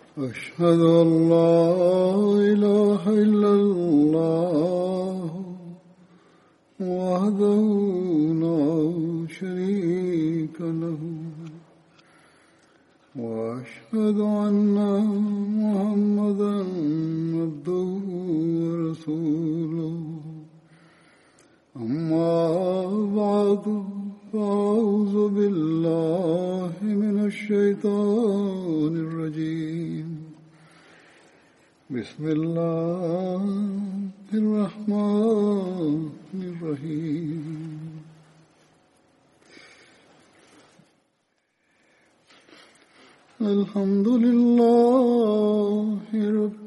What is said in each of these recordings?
أشهد أن لا إله إلا الله وحده لا شريك له وأشهد أن محمدا عبده ورسوله أما بعد فأعوذ بالله من الشيطان الرجيم بسم الله الرحمن الرحيم الحمد لله رب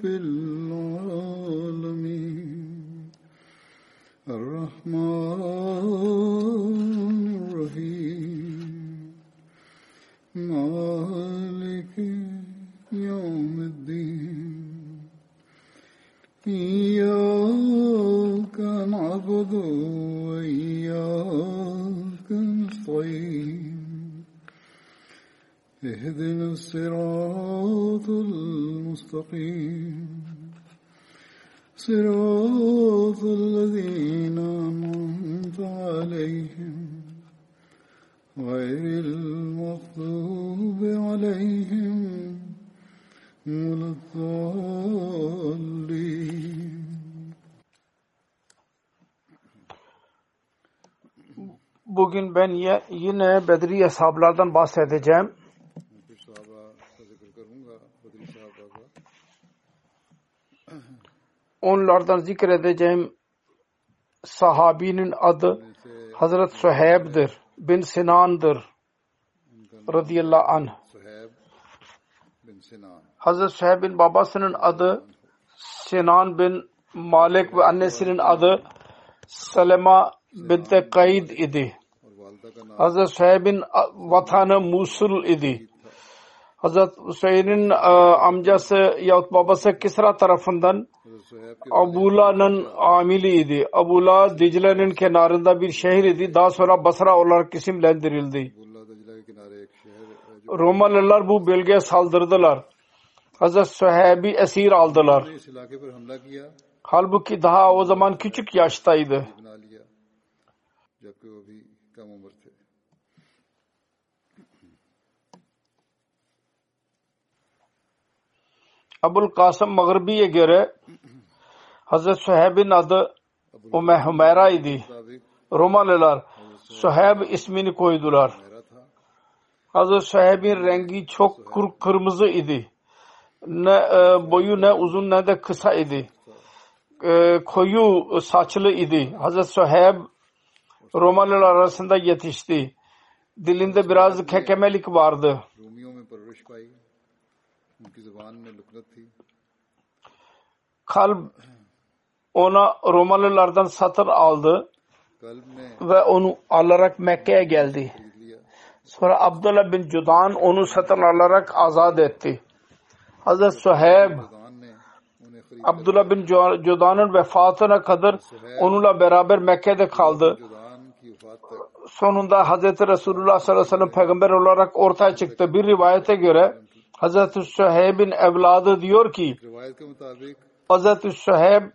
العالمين الرحمن الرحيم مالك يوم الدين إياك نعبد وإياك نستعين اهدنا الصراط المستقيم صراط الذين أنعمت عليهم غير المغضوب عليهم ولا الضالين. Bugün ben yine Bedri ashablardan bahsedeceğim. Onlardan zikredeceğim sahabinin adı Hazret Suheyb'dir, bin Sinan'dır radıyallahu anh. Hazret Suheyb'in babasının adı Sinan bin Malik ve annesinin adı Selema bint Kaid idi. Hazret Suheyb'in vatanı Musul idi. Hazret Hüseyin'in amcası yahut babası Kisra tarafından Abula'nın amiliydi. Abula Dicle'nin kenarında bir şehir idi. Daha sonra Basra olarak isimlendirildi. Romalılar bu bölgeye saldırdılar. Hazret Suheyb'i esir aldılar. Halbuki daha o zaman küçük yaştaydı. Abul Kasım Mağribi'ye göre Hazret Suheyb'in adı Hümeyra idi. Romalılar Suheyb ismini koydular. Hazret Suheyb'in rengi çok kırmızı idi. Ne boyu ne uzun ne de kısa idi. Koyu saçlı idi. Hazret Suheyb Romalılar arasında yetişti. Dilinde biraz kekemelik vardı. Kalp ona Romalılardan satın aldı ve onu alarak Mekke'ye geldi. Sonra Abdullah bin Cudan onu satın alarak azat etti. Hazret Suheyb Abdullah bin Cudan'ın vefatına kadar onunla beraber Mekke'de kaldı. Sonunda Hazreti Resulullah sallallahu aleyhi ve sellem peygamber olarak ortaya çıktı. Bir rivayete göre Hazreti Suheyb'in evladı diyor ki Hazreti Suheyb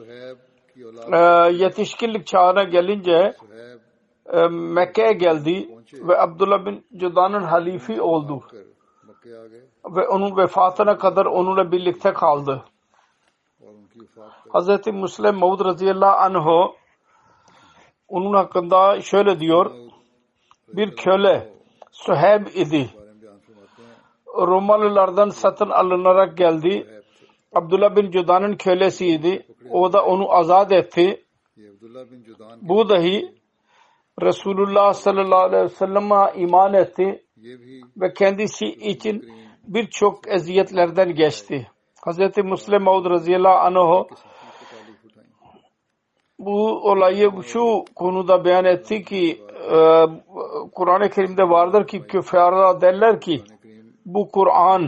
yetişkinlik çağına gelince Mekke'ye geldi ve Abdullah bin Cudan'ın halifi oldu. Ve onun vefatına kadar onunla birlikte kaldı. Hazreti Müslim Maud radıyallahu anh onun hakkında şöyle diyor. Bir köle Suheyb idi. Romalılardan satın alınarak geldi. Abdullah bin Cudan'ın kölesiydi. O da onu azat etti. Bu dahi Resulullah sallallahu aleyhi ve sellem'e iman etti ve kendisi için birçok eziyetlerden geçti. Hazreti Müslim Maud radıyallahu anh bu olayı şu konuda beyan etti ki Kur'an-ı Kerim'de vardır ki küffarlar derler ki bu Kur'an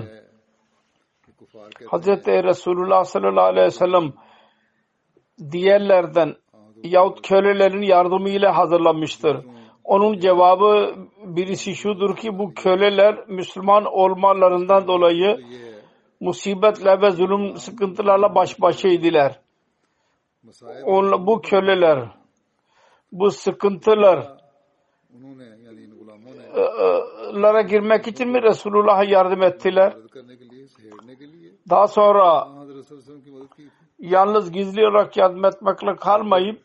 Hazreti Resulullah sallallahu aleyhi ve sellem diğerlerden yahut kölelerin yardımıyla hazırlanmıştır. Onun cevabı birisi şudur ki bu köleler Müslüman olmalarından dolayı musibetle ve zulüm sıkıntılarla baş başaydılar. मसाइब Bu köleler, bu sıkıntılar उन्होंने यानी इन गुलामों ने lara girmek için mi Resulullah'a yardım ettiler? मदद करने के लिए सहेड़ने के लिए Daha sonra हज़रत सल्लल्लाहु अलैहि वसल्लम की मदद की थी। yalnız gizli olarak yardım etmekle kalmayıp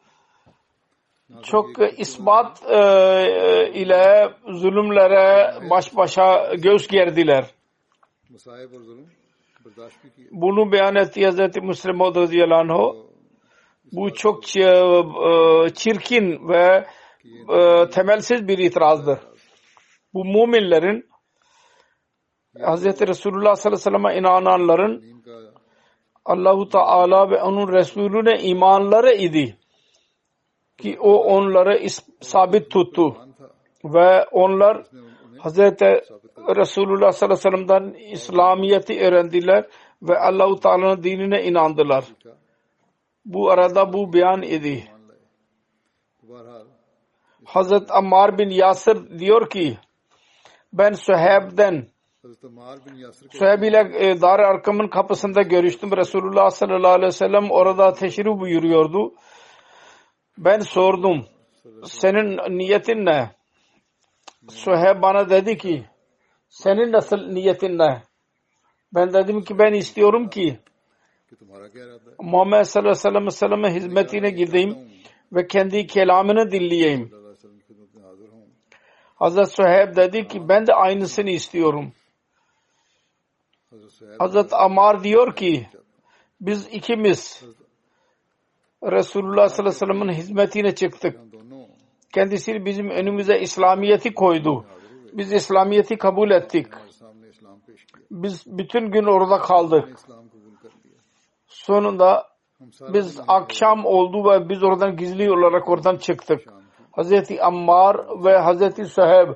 çok ispat ile zulümlere baş başa göğüs gerdiler. मसाइब और जुल्म बर्दाश्त भी किए। Bunu beyan etti Hazreti Müslim Maud radıyallahu anh. Bu çok çirkin ve temelsiz bir itirazdır. Bu müminlerin Hazreti Resulullah sallallahu aleyhi ve sellem'e inananların इनका Allah-u Teala ve onun Resulüne imanları idi. Ki o onları sabit tuttu. ईमान था Ve onlar उसने उन्हें Hazreti Resulullah sallallahu aleyhi ve sellem'den İslamiyet'i öğrendiler ve Allah-u Teala'nın dinine inandılar. सीखा, Bu arada bu beyan idi. मान लाए। तो बहरहाल Hazret Ammar bin Yasir diyor ki ben Süheyb'den हज़रत अम्मार बिन यासिर के Süheyb ile Dar-ı Arkam'ın kapısında görüştüm. Resulullah sallallahu aleyhi ve sellem orada teşrif buyuruyordu. Ben sordum. Senin niyetin ne? Süheyb bana dedi ki senin nasıl niyetin ne? Ben dedim ki ben istiyorum ki कि तुम्हारा क्या इरादा है? Muhammed sallallahu aleyhi ve sellem'e hizmetine gideyim ve kendi kelamını dinleyeyim. सल्लल्लाहु अलैहि वसल्लम की खिदमत में हाजिर हूँ। Hazret Süheyb dedi ki ben de aynısını istiyorum. हज़रत Suhaib Hazret Ammar diyor ki biz ikimiz Resulullah sallallahu aleyhi ve sellem'in hizmetine çıktık. हम दोनों Kendisi bizim önümüze İslamiyet'i koydu. Biz İslamiyet'i kabul ettik. हमारे सामने इस्लाम पेश किया। Biz bütün gün orada kaldık. हमने इस्लाम कबूल कर लिया। Sonunda हम सारे biz akşam oldu ve biz oradan gizli olarak oradan çıktık. Hazreti Ammar ve Hazreti Süheyb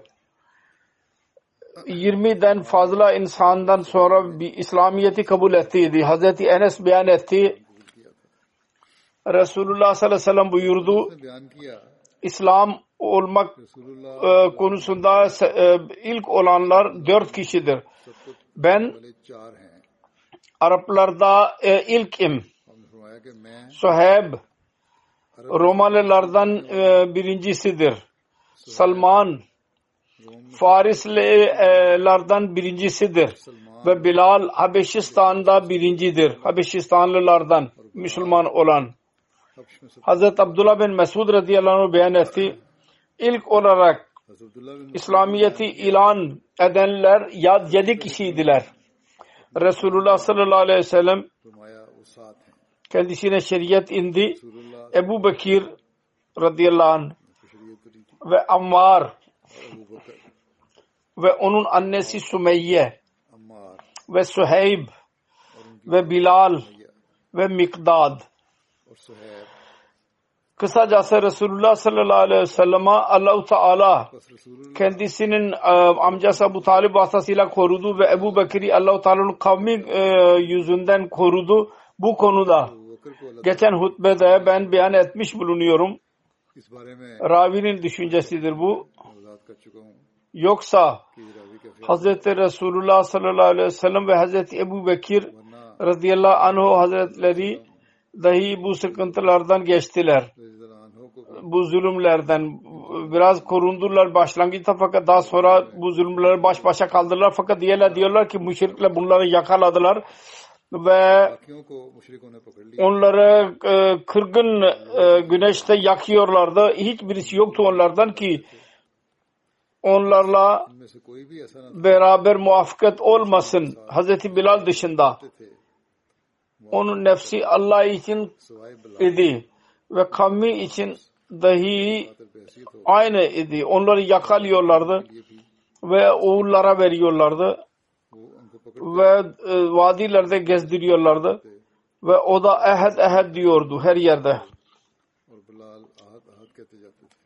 20'den fazla insandan sonra bir İslamiyet'i kabul ettiydi. Hazreti Enes beyan etti. Resulullah sallallahu aleyhi ve sellem buyurdu. ने बयान किया İslam olmak रसूलुल्लाह konusunda ilk olanlar 4 kişidir. Ben वाले 4 हैं। Araplarda ilkim. हमने फरमाया कि मैं Süheyb Romalılardan birincisidir. Salman Farislilerden birincisidir. Ve Bilal Habeşistan'da birincidir. Habeşistanlılardan Müslüman olan. हब्श में सब Hazreti Abdullah bin Mesud radıyallahu anh beyan etti. İlk olarak हज़रत अब्दुल्लाह बिन İslamiyet'i ilan edenler 7 kişiydiler. Resulullah sallallahu aleyhi ve sellem फरमाया वो 7 हैं। kendisine şeriat indi. रसूलुल्लाह Ebu Bekir radıyallahu anh को शरीयत दी थी ve Ammar और अबू बकर, ve onun annesi Sümeyye Ammar ve Süheyb और उनकी ve Bilal भैया ve Mikdad. और Suhaib. Kısacası Resulullah sallallahu aleyhi ve sellem'e Allah-u Teala बस रसूलुल्लाह kendisinin amcası Ebu Talib vasıtasıyla korudu ve Ebu Bekir'i Allah-u Teala'nın kavmi yüzünden korudu. Bu konuda Abu बकर को अल्लाह geçen hutbede ben beyan etmiş bulunuyorum. इस बारे में Ravinin düşüncesidir bu. वजाहत कर चुका हूँ Yoksa कि रावी का ख्याल Hazreti Resulullah sallallahu aleyhi ve sellem ve Hazreti Ebu Bekir वरना radıyallahu anhu hazretleri dahi bu sıkıntılardan geçtiler. रज़ियल्लाहु को Bu zulümlerden biraz korundular başlangıçta fakat daha sonra bu zulümleri baş başa kaldırdılar fakat diyorlar ki müşrikler bunları yakaladılar ve बाकियों को मुशरिकों ने पकड़ लिया। onları kırgın güneşte yakıyorlardı. Hiçbirisi yoktu onlardan ki onlarla इनमें से कोई भी ऐसा न beraber muvaffakat olmasın. Hazreti Bilal dışında. थे Onun nefsi Allah için सवाए Bilal idi ve kavmi için dahi बहसीत हो aynı idi. Onları yakalıyorlardı ये भी ve oğullara veriyorlardı वो उनको पकड़ ve vadilerde gezdiriyorlardı ve o da ehed diyordu her yerde. और बिलाल आहद आहद कहते जाते थे।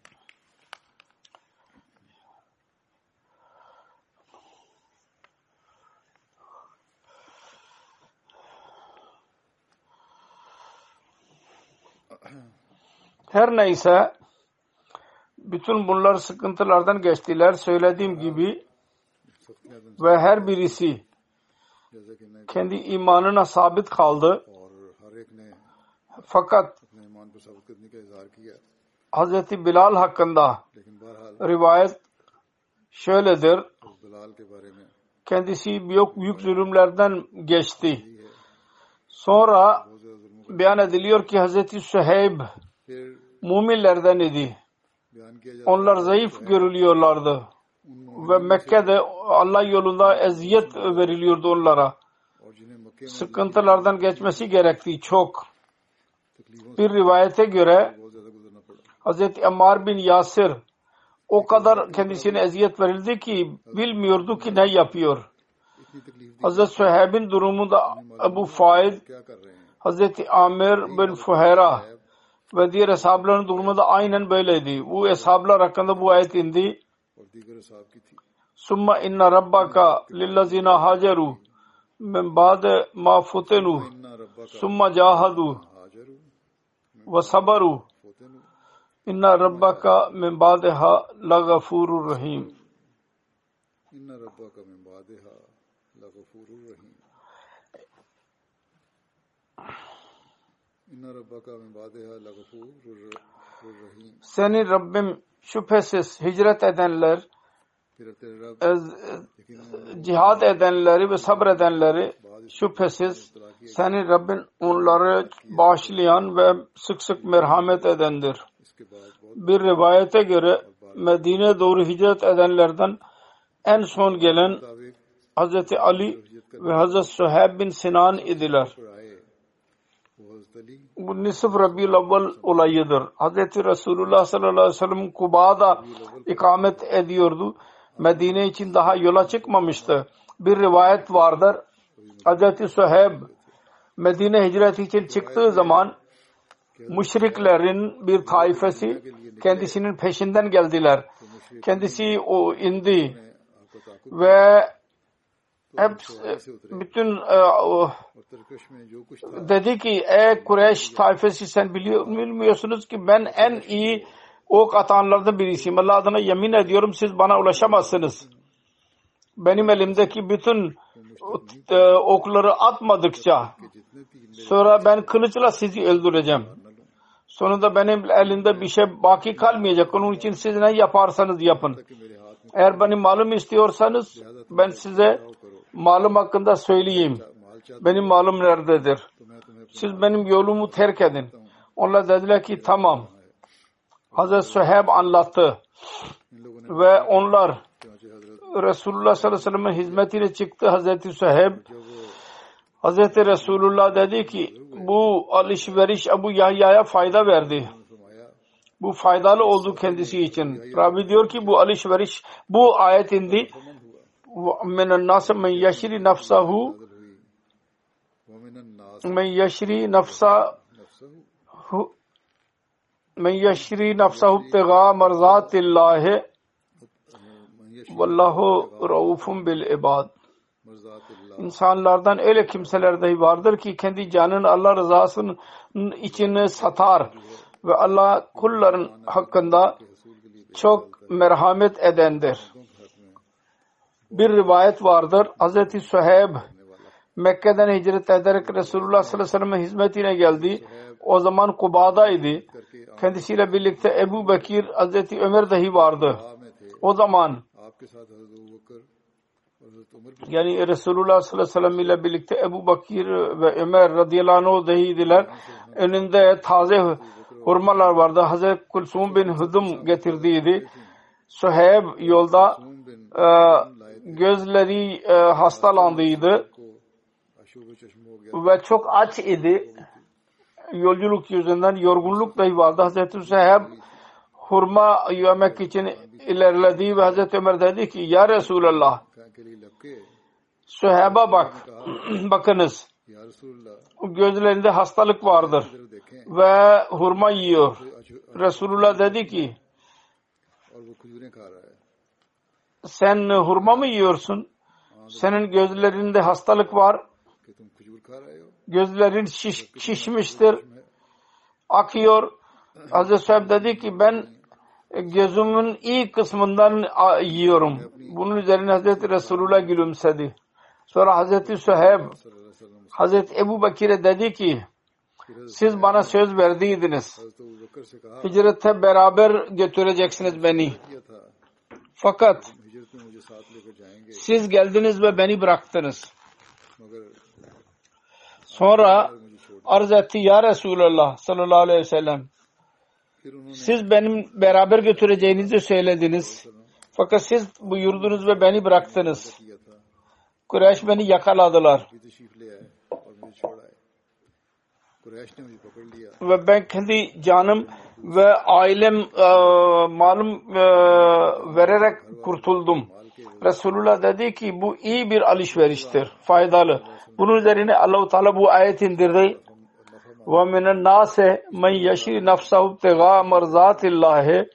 Her neyse bütün bunlar sıkıntılardan geçtiler. Söylediğim gibi सख्तियां दिन ve her birisi जैसे कि मैं kendi imanına sabit kaldı. और हर एक ने Fakat अपने ईमान पर साबित करने का इजहार किया, Hazreti Bilal hakkında लेकिन बहरहाल rivayet şöyledir. उस बिलाल के बारे में Kendisi büyük zulümlerden geçti. यही है, Sonra बहुत ज्यादा जुल्म beyan ediliyor ki Hazreti Süheyb फिर müminlerden idi. बयान किया जाता Onlar zayıf görülüyorlardı. उन Ve Mekke'de Allah yolunda eziyet veriliyordu onlara. और जिन्हें मक्के में Sıkıntılardan geçmesi gerektiği çok. तकलीफों से Bir rivayete göre बहुत ज्यादा गुजरना पड़ा। Hazreti Ammar bin Yasir o kadar kendisine eziyet verildi ki bilmiyordu ki ne yapıyor. इतनी तकलीफ दी, Hazreti Süheyb'in durumunda Ebu Faid, क्या कर रहे हैं? Hazreti Amir bin Fuhera ve diğer eshabların durumu da aynen böyleydi. Bu eshablar hakkında bu ayet indi. और दीगर साहब की थी। Summa inna rabbaka lillazina hajaru min ba'de ma futinu इन्ना रब्बा का summa cahadu हाजरू ve sabaru फोतेनु inna rabbaka min ba'deha lagafurur rahim. इन्ना रब्बा का मिन बादिहा लगफूरुर रहीम। इन्ना रब्बा का मिन बादिहा लगफूरुर रहीम। Senin Rabbim şüphesiz hicret edenler, फिर तेरे रब cihad edenleri ve sabredenleri şüphesiz senin Rabbin onları bağışlayan ve sık sık merhamet edendir. इसके बाद बहुत Bir rivayete göre Medine'ye doğru hicret edenlerden en son gelen मुताबिक Hazreti Ali ve Hazreti Süheyb bin Sinan idiler. पर आए वो हज़रत Ali Bu Nisf Rabi'ül Evvel olayıdır. Hazreti Resulullah sallallahu aleyhi ve sellem Kuba'da ikamet ediyordu. Medine için daha yola çıkmamıştı. Bir rivayet vardır. Hazreti Süheyb Medine hicret için çıktığı zaman müşriklerin bir taifesi kendisinin peşinden geldiler. Kendisi o indi आपको ताकुब ve hepsi bütün और तरकश में जो कुछ था dedi ki ey Kureyş taifesi sen bilmiyorsunuz ki ben en iyi ok atanlardan birisiyim. Allah adına yemin ediyorum siz bana ulaşamazsınız. Benim elimdeki bütün okları atmadıkça कि जितने तीर sonra ben kılıçla sizi öldüreceğim. Sonunda benim elimde bir şey baki kalmayacak. Onun için siz ne yaparsanız yapın. कि मेरे हाथ में Eğer benim malım istiyorsanız ben size malım hakkında söyleyeyim. माल चाहता Benim malım nerededir? तो मैं तुम्हें Siz benim yolumu terk edin. Onlar dediler ki tamam. Hazreti Süheyb anlattı. इन लोगों ने Ve onlar चुनांचे हजरत Resulullah sallallahu aleyhi ve sellem'in hizmetine çıktı. Hazreti Süheyb जब वो Hazreti Resulullah dedi ki bu alışveriş Ebu Yahya'ya fayda verdi. फरमाया Bu faydalı oldu kendisi için. Rabi diyor ki bu alışveriş bu ayet indi. Minen nas men yeşri nafsahu हुई वमिन अन्नास men yeşri nafsahu नफ्सहु men yeşri nafsahu ibtiga marzatillahi मन यशा vallahu raufun bil ibad. मर्ज़ातिल्लाह İnsanlardan öyle kimseler dahi vardır ki kendi canını Allah rızasının için satar ve Allah kulların hakkında रसूल के लिए çok merhamet edendir. Bir rivayet vardır. Hazreti Süheyb Mekke'den hicret ederek Resulullah sallallahu aleyhi ve sellem'in hizmetine geldi. O zaman Kuba'daydı. करके Kendisiyle birlikte Ebu Bekir, Hazreti Ömer dahi vardı. आ में थे O zaman आपके साथ हजरत अबू बकर और हजरत उमर भी yani Resulullah sallallahu aleyhi ve sellem ile birlikte Ebu Bekir ve Ömer radıyallahu anh dahiydiler. Önünde taze hurmalar vardı. Hazreti Kulsum bin Hudum getirdiydi. Süheyb yolda gözleri hastalandıydı को अशूब चश्म हो गया ve çok aç idi. Yolculuk yüzünden yorgunluk dahi vardı. Hazreti Süheyb hurma yemek için ilerledi ve Hazreti Ömer dedi ki ya Resulallah के लिए लपके Süheyb'e bak. Bakınız या रसूलुल्लाह gözlerinde hastalık vardır इधर देखें ve hurma yiyor. Resulullah dedi ki और वो खजूरें खा रहा है sen hurma mı yiyorsun? Senin gözlerinde hastalık var. कि तुम खजूर खा रहे हो Gözlerin şişmiştir. Akıyor. Hazreti Süheyb dedi ki ben gözümün iyi kısmından yiyorum. Bunun üzerine Hazreti Resulullah gülümsedi. Sonra Hazreti Suheyb Hazreti Ebu Bekir'e dedi ki siz bana söz verdiydiniz. Hicrete beraber götüreceksiniz beni. Fakat siz geldiniz ve beni bıraktınız. Sonra arz etti ya Resulallah sallallahu aleyhi ve sellem. Siz benim beraber götüreceğinizi söylediniz. Fakat siz buyurdunuz ve beni bıraktınız. Kureyş beni yakaladılar. Ve ben kendi canım ve ailem malum vererek kurtuldum. Resulullah dedi ki bu iyi bir alışveriştir. Faydalı. Bunun üzerine Allah-u Teala bu ayet indirdi. وَمِنَ النَّاسِ مَنْ يَشْرِ نَفْسَهُ ابْتِغَاءَ مَرْضَاتِ اللّٰهِ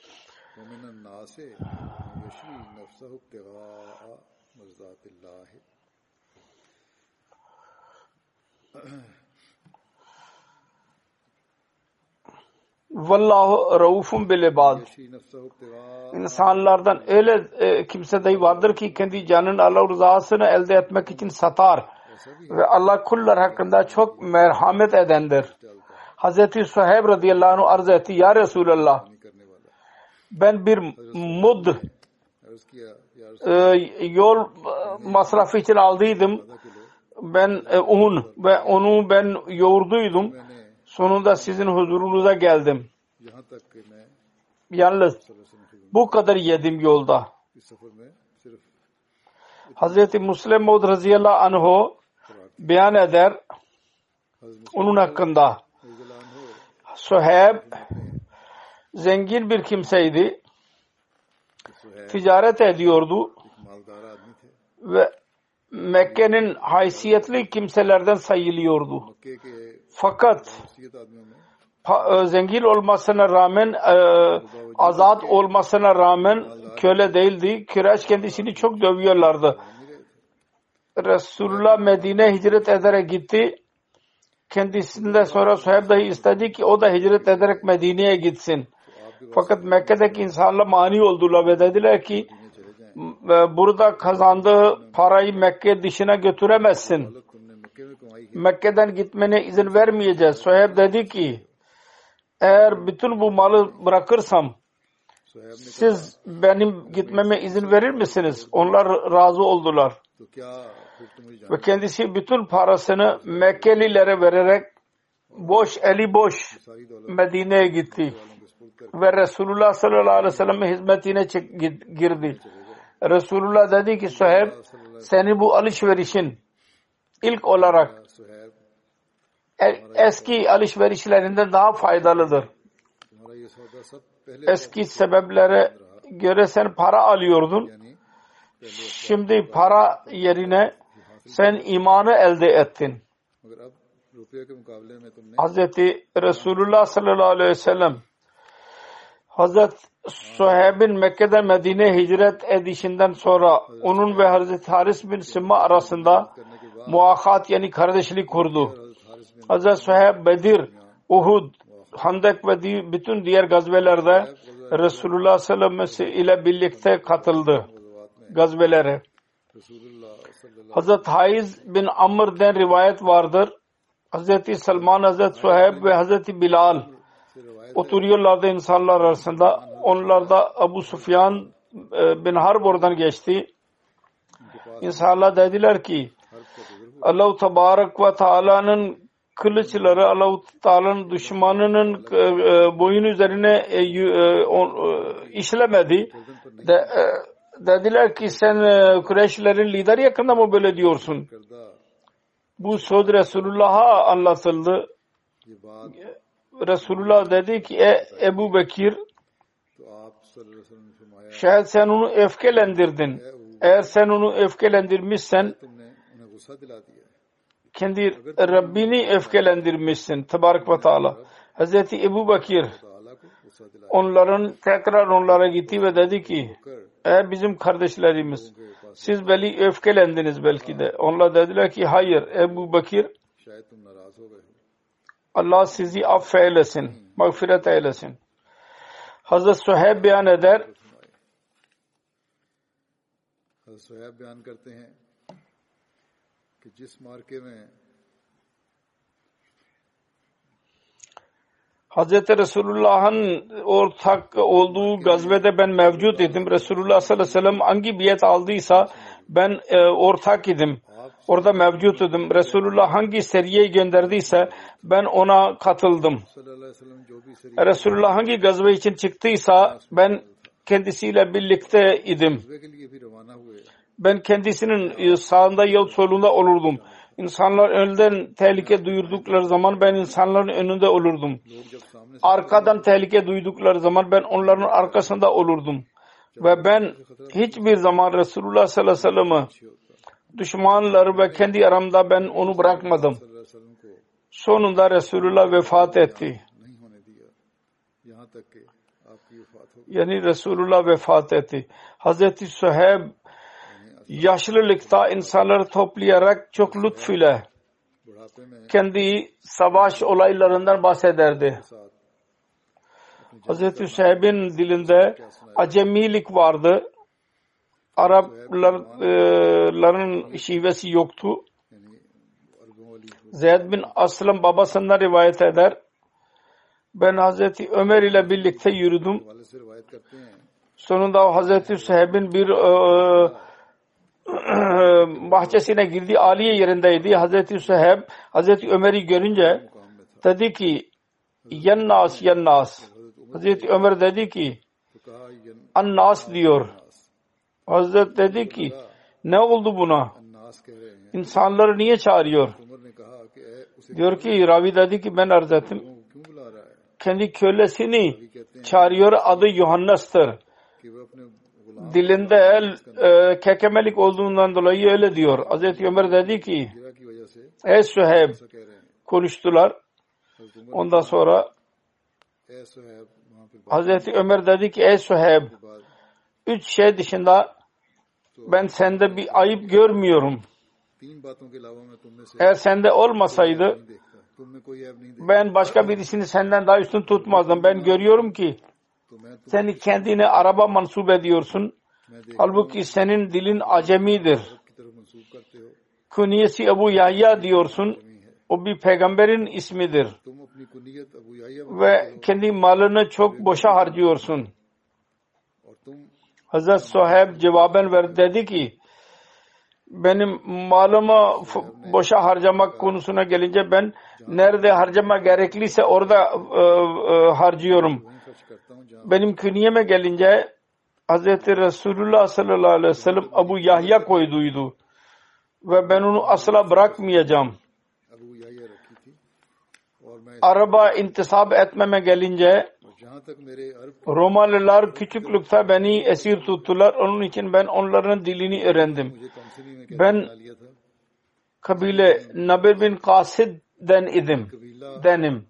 Vallahu raufun bil ibad. İnsanlardan öyle kimse dahi vardır ki kendi canının Allah rızasını elde etmek için satar ve Allah kullar hakkında çok merhamet edendir. Hazreti Suheyb radıyallahu anh arz etti ya Resulallah ben bir mud yol masrafı için aldıydım. Ben un ve onu ben yoğurduydum. Sonunda sizin huzurunuza geldim. Yalnız bu kadar yedim yolda. Hazreti Müslim Maud radıyallahu anh beyan eder onun hakkında. Suheyb zengin bir kimseydi. Ticaret ediyordu ve Mekke'nin haysiyetli kimselerden sayılıyordu. Fakat zengin olmasına rağmen azat olmasına rağmen köle değildi. Kureyş kendisini çok dövüyorlardı. Resulullah Medine hicret ederek gitti. Kendisinden sonra Suheyb dahi istedi ki o da hicret ederek Medine'ye gitsin. Fakat Mekke'deki insanlar mani oldular ve dediler ki burada kazandığı parayı Mekke dışına götüremezsin. Mekke'den gitmene izin vermeyeceğiz. Suheyb dedi ki eğer bütün bu malı bırakırsam siz benim gitmeme izin verir misiniz? Onlar razı oldular. Ve kendisi bütün parasını Mekkelilere vererek eli boş Medine'ye gitti. Ve Resulullah sallallahu aleyhi ve sellem'in hizmetine girdi. Resulullah dedi ki Suheyb senin bu alışverişin ilk olarak eski alışverişlerinden daha faydalıdır. Eski sebeplere göre sen para alıyordun. Şimdi para yerine sen imanı elde ettin. Hazreti Resulullah sallallahu aleyhi ve sellem Hazreti Suheyb'in Mekke'den Medine'ye hicret edişinden sonra onun ve Hazreti Haris bin Simma arasında muakat yani kardeşlik kurdu. Hazreti Suheyb Bedir, Uhud, Handek ve bütün diğer gazvelerde Resulullah sallallahu aleyhi ve sellem ile birlikte katıldı gazvelere. Hazreti Haiz bin Amr'den rivayet vardır. Hazreti Salman, Hazreti Suheyb ve Hazreti Bilal oturuyorlardı insanlar arasında. Onlar da Abu Sufyan bin Harb oradan geçti. İnsanlar dediler ki Allah-u Tebarek ve Teala'nın kılıçları Allah-u Teala'nın düşmanının boyun üzerine işlemedi. Dediler ki sen Kureyşlerin lideri yakında mı böyle diyorsun? Bu söz Resulullah'a anlatıldı. Resulullah dedi ki Ebu Bekir şayet sen onu öfkelendirdin. Eğer sen onu öfkelendirmişsen kendi Rabbini öfkelendirmişsin. Tebarek ve Teala. Hazreti Ebu Bekir tekrar onlara gitti ve dedi ki bizim kardeşlerimiz siz beni öfkelendiniz belki de. Onlar dediler ki hayır Ebu Bekir Allah sizi affeylesin, mağfiret eylesin. Hazreti Suheyb beyan eder. कि जिस मार्के में Hazreti Resulullah'ın ortak olduğu gazvede ben mevcut idim. Resulullah sallallahu aleyhi ve sellem hangi biat aldıysa ben ortak idim. Orada mevcut idim. Resulullah hangi seriye gönderdiyse ben ona katıldım. Resulullah hangi gazve için çıktıysa ben kendisiyle birlikte idim. Ben kendisinin sağında yahut solunda olurdum. İnsanlar önden tehlike duyurdukları zaman ben insanların önünde olurdum. Arkadan tehlike duydukları zaman ben onların arkasında olurdum. Ve ben hiçbir zaman Resulullah sallallahu aleyhi ve sellem'i düşmanları ve kendi aramda ben onu bırakmadım. Sonunda Resulullah vefat etti. Yani Resulullah vefat etti. Hazreti Süheyb yaşlılıkta insanları toplayarak çok lütfüyle kendi savaş olaylarından bahsederdi. Hazreti Süheyb'in dilinde acemilik vardı. Arapların şivesi yoktu. Zeyd bin Aslam babasından rivayet eder. Ben Hazreti Ömer ile birlikte yürüdüm. Sonunda Hazreti Süheyb'in bir bahçesine girdi. Aliye yerindeydi. Hazreti Süheyb Hazreti Ömer'i görünce dedi ki Yannas Yannas. Hazreti Ömer dedi ki Annas diyor. Hazret dedi ki ne oldu buna? İnsanları niye çağırıyor? Diyor ki ravi dedi ki ben arz ettim. Kendi kölesini çağırıyor. Adı Yuhannas'tır. Dilinde kekemelik olduğundan dolayı öyle diyor. Hazreti Ömer dedi ki ey Süheyb konuştular. Ondan sonra Hazreti Ömer dedi ki ey Süheyb 3 şey dışında ben sende bir ayıp görmüyorum. Eğer sende olmasaydı ben başka birisini senden daha üstün tutmazdım. Ben görüyorum ki seni kendine araba mansup ediyorsun. Halbuki senin dilin acemidir. Künyesi Ebu Yahya diyorsun. O bir peygamberin ismidir. Ve kendi malını çok boşa harcıyorsun. Hazreti Süheyb cevaben verdi dedi ki benim malımı boşa harcamak konusuna gelince ben nerede harcama gerekliyse orada harcıyorum. Benim künyeme gelince Hazreti Resulullah sallallahu aleyhi ve sellem Ebu Yahya koyduydu. Ve ben onu asla bırakmayacağım. Araba intisap etmeme gelince Romalılar küçüklükte beni esir tuttular. Onun için ben onların dilini öğrendim. Ben kabile Namir bin Kasid'den denim.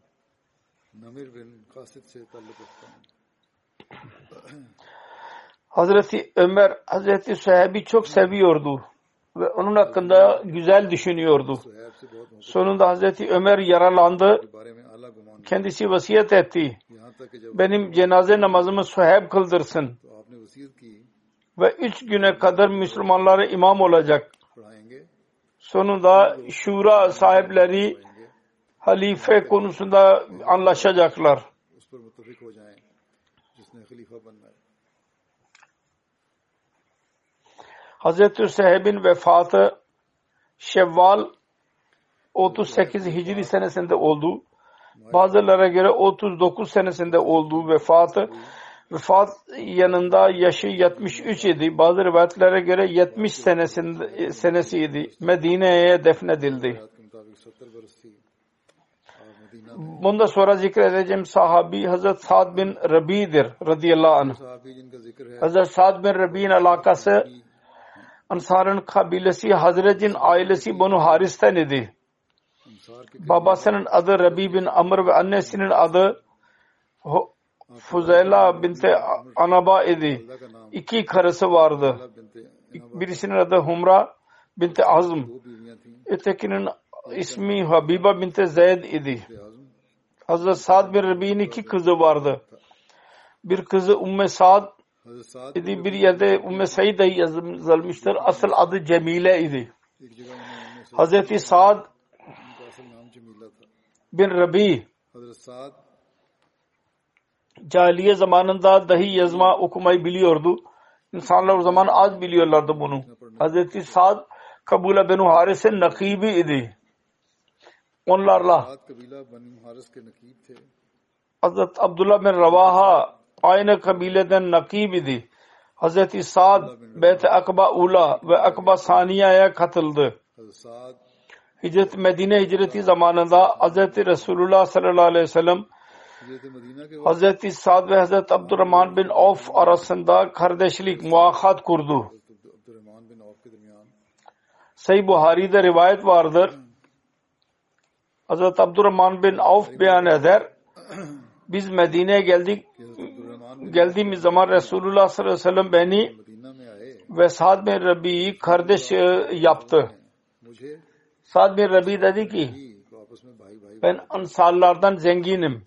Hazreti Ömer Hazreti Süheyb'i çok seviyordu ve onun hakkında güzel düşünüyordu. Sonunda Hazreti Ömer yaralandı. Kendisi vasiyet etti. Benim cenaze namazımı Süheyb kıldırsın. Ve 3 güne kadar Müslümanlara imam olacak. Sonunda şura sahipleri halife konusunda anlaşacaklar. Hazreti Süheyb'in vefatı Şevval 38 Hicri senesinde oldu. Bazılara göre 39 senesinde olduğu vefat yanında yaşı 73 idi. Bazı rivayetlere göre 70 senesiydi. Medine'ye defnedildi. Bundan sonra zikredeceğim sahabi Hazret Sa'd bin Rabi'dir radıyallahu anh. Hazret Sa'd bin Rabi'nin alakası Ansar'ın kabilesi Hazret'in ailesi Banu Haris'ten idi. Babasının adı Rabi bin Amr ve annesinin adı Fuzeyla binti Anaba idi. 2 karısı vardı. Birisinin adı Humra binti Azm. Ötekinin ismi Habiba binti Zeyd idi. Hazret Sa'd bin Rabi'nin 2 kızı vardı. Bir kızı Umme Sa'd idi. Bir yerde Umme Said yazılmıştır. Asıl adı Cemile idi. Hazreti Sa'd bin Rabi cahiliye zamanında dahi yazma okumayı biliyordu. İnsanlar o zaman az biliyorlardı bunu. Hazreti Sa'd Kabula Benu Haris'in nakibi idi. Onlarla Hazreti Abdullah bin Ravaha aynı kabileden nakib idi. Hazreti Sa'd Beyt-i Akba Ula ve Akba Saniye'ye katıldı. Medine hicreti zamanında Hazreti Resulullah sallallahu aleyhi ve sellem Hazreti Sa'd ve Hazreti Abdurrahman bin Avf arasında kardeşlik muahat kurdu. Sahih Buhari'de rivayet vardır. Hazreti Abdurrahman bin Avf beyan eder. Biz Medine'ye geldiğimiz zaman Resulullah sallallahu aleyhi ve sellem beni ve Sa'd bin Rabi'yi kardeş yaptı. Sa'd bin Rabi dedi ki ben ansarlardan zenginim.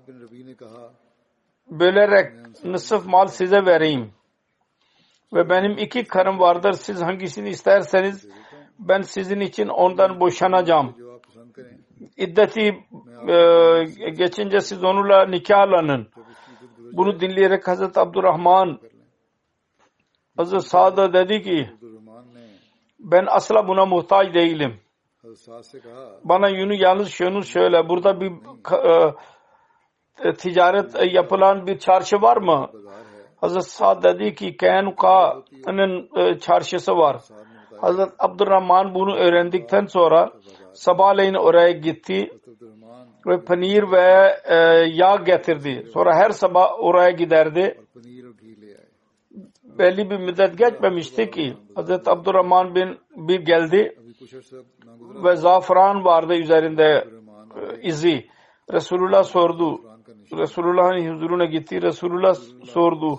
Bölerek nısf mal size vereyim. Ve benim 2 karım vardır. Siz hangisini isterseniz ben sizin için ondan boşanacağım. İddeti geçince siz onunla nikahlanın. Bunu dinleyerek Hazreti Abdurrahman Hazreti Sa'd'a dedi ki ben asla buna muhtaç değilim. Bana yalnız şunu söyle. Burada bir ticaret yapılan bir çarşı var mı? Hazreti Sa'd dedi ki Kaynuka'nın çarşısı var. Hazreti Abdurrahman bunu öğrendikten sonra sabahleyin oraya gitti ve panir ve yağ getirdi. Sonra her sabah oraya giderdi. Belli bir müddet geçmemişti ki Hazreti Abdurrahman bir geldi ve zaferan vardı üzerinde izi. Resulullah sordu. Resulullah'ın huzuruna gitti. Resulullah sordu.